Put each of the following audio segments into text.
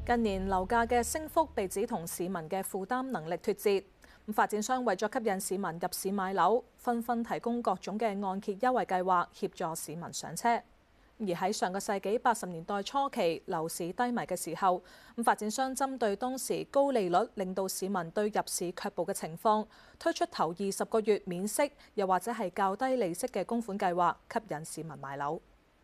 近年樓價嘅升幅被指同市民嘅負擔能力脫節，發展商為咗吸引市民入市買樓，紛紛提供各種嘅按揭優惠計劃，協助市民上車。而喺上個世紀80年代初期樓市低迷嘅時候，發展商針對當時高利率令到市民對入市卻步嘅情況，推出頭20個月免息，又或者係較低利息嘅供款計劃，吸引市民買樓。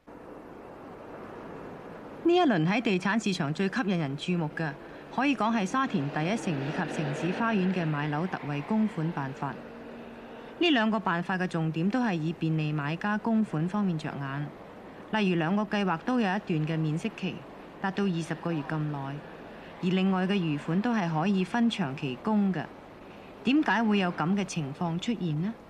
呢一輪喺地產市場最吸引人注目嘅，可以講係沙田第一城以及城市花園嘅買樓特惠供款辦法。呢兩個辦法嘅重點都係以便利買家供款方面着眼。例如兩個計劃都有一段嘅免息期，達到20個月咁耐，而另外嘅餘款都係可以分長期供嘅。點解會有咁嘅情況出現呢？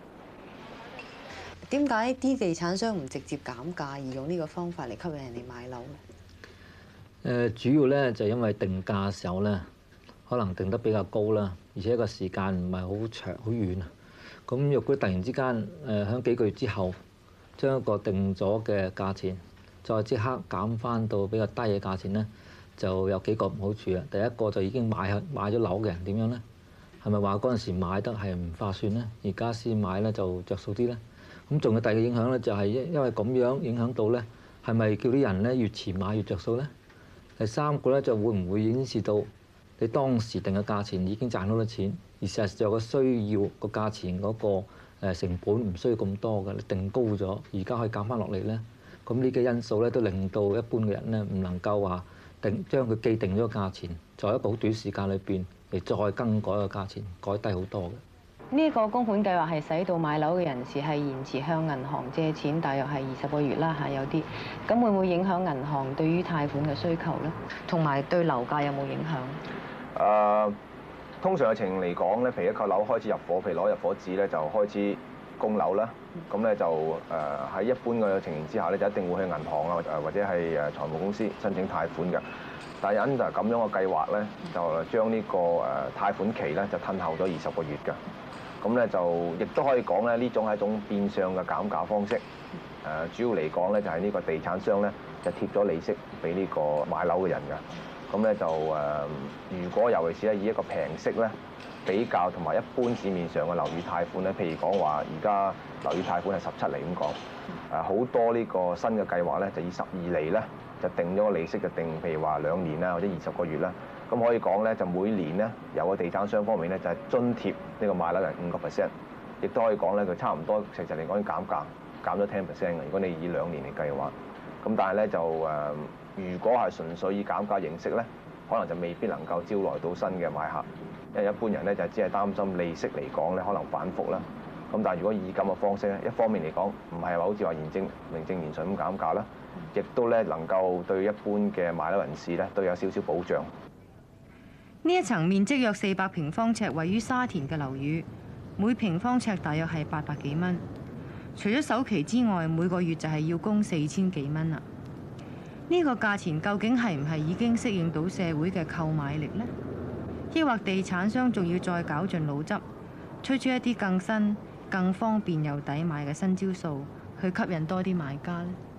點解啲地產商唔直接減價，而用呢個方法嚟吸引人哋買樓咧？ 主要咧就因為定價嘅時候咧，可能定得比較高啦，而且個時間唔係好長好遠啊。咁若果突然之間喺幾個月之後，將一個定咗嘅價錢，再即刻減翻到比較低嘅價錢咧，就有幾個唔好處啊。第一個就已經買咗樓嘅人點樣咧？係咪話嗰陣時買得係唔划算咧？而家先買咧就着數啲咧？咁仲有第二個影響咧，就係因為咁樣影響到咧，係咪叫啲人咧越遲買越着數咧？第三個咧就會唔會顯示到你當時定嘅價錢已經賺到咗錢，而事實上個需要個價錢嗰個成本唔需要咁多嘅，你定高咗，而家可以減翻落嚟咧。咁呢個因素咧都令到一般嘅人咧唔能夠話將佢既定咗個價錢，在一個好短時間裏邊嚟再更改個價錢，改低好多嘅。 呢個供款計劃係使到買樓嘅人士係延遲向銀行借錢，大約係20個月啦嚇，有啲咁會唔會影響銀行對於貸款嘅需求咧？同埋對樓價有冇影響？ 通常嘅情形嚟講咧，譬如一個樓開始入伙，譬如攞入伙紙咧就開始供樓啦。咁咧就喺一般嘅情形之下咧，就一定會去銀行啊或者係財務公司申請貸款嘅。但係因就係咁樣嘅計劃咧，就將呢個貸款期咧就褪後咗20個月㗎。咁咧就亦都可以講咧，呢種係一種變相嘅減價方式。主要嚟講咧，就係呢個地產商咧就貼咗利息俾呢個買樓嘅人㗎。咁咧就如果尤其是咧以一個平息咧比較同埋一般市面上嘅樓宇貸款咧，譬如講話而家樓宇貸款係17厘咁講，好多呢個新嘅計劃咧就以12厘咧就定咗個利息，就定譬如話2年啦或者20個月啦。咁可以講咧，就每年咧由個地產商方面咧就係津貼呢個買樓人5%，亦都可以講咧佢差唔多實際嚟講減價減咗10%嘅。如果你以2年嚟計嘅話，咁但係咧就如果係純粹以減價形式咧，可能就未必能夠招來到新嘅買客，因為一般人咧就只係擔心利息嚟講咧可能反覆啦。咁但係如果以咁嘅方式咧，一方面嚟講唔係話好似話名正言順咁減價啦，亦都咧能夠對一般嘅買樓人士咧都有少少保障。 呢一層面積約400平方尺，位於沙田嘅樓宇，每平方尺大約係800幾蚊。除咗首期之外，每個月就係要供4000幾蚊啦。呢個價錢究竟係唔係已經適應到社會嘅購買力呢？抑或地產商仲要再絞盡腦汁，推出一啲更新、更方便又抵買嘅新招數，去吸引多啲買家呢？